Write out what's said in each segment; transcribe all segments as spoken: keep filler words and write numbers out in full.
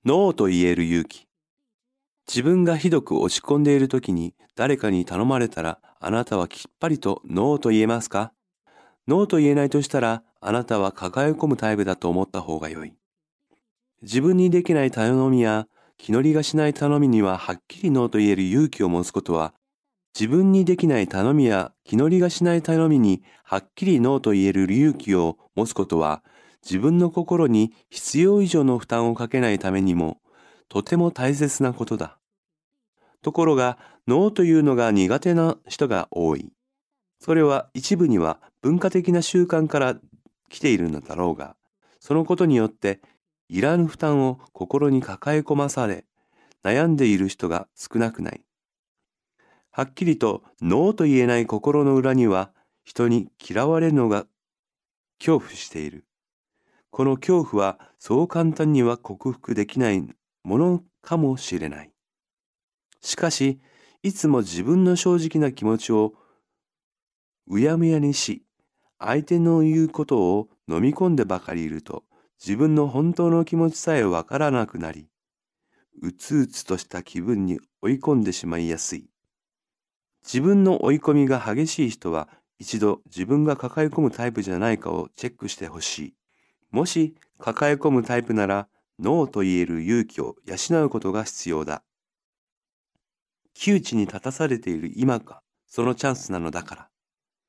ノーと言える勇気。自分がひどく落ち込んでいるときに誰かに頼まれたら、あなたはきっぱりとノーと言えますか？ノーと言えないとしたら、あなたは抱え込むタイプだと思った方がよい。自分にできない頼みや気乗りがしない頼みにははっきりノーと言える勇気を持つことは、自分にできない頼みや気乗りがしない頼みにはっきりノーと言える勇気を持つことは、自分の心に必要以上の負担をかけないためにも、とても大切なことだ。ところが、ノーというのが苦手な人が多い。それは一部には文化的な習慣から来ているのだろうが、そのことによっていらぬ負担を心に抱え込まされ、悩んでいる人が少なくない。はっきりとノーと言えない心の裏には、人に嫌われるのが恐怖している。この恐怖はそう簡単には克服できないものかもしれない。しかし、いつも自分の正直な気持ちをうやむやにし、相手の言うことを飲み込んでばかりいると、自分の本当の気持ちさえわからなくなり、うつうつとした気分に追い込んでしまいやすい。自分の追い込みが激しい人は、一度自分が抱え込むタイプじゃないかをチェックしてほしい。もし抱え込むタイプなら、ノーと言える勇気を養うことが必要だ。窮地に立たされている今がそのチャンスなのだから。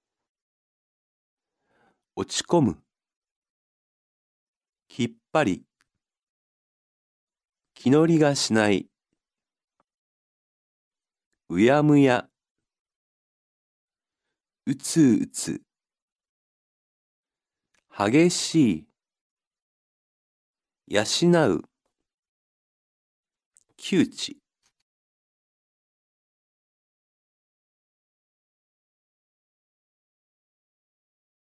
落ち込む、きっぱり、気乗りがしない、うやむや、うつうつ、激しい、養う、窮地。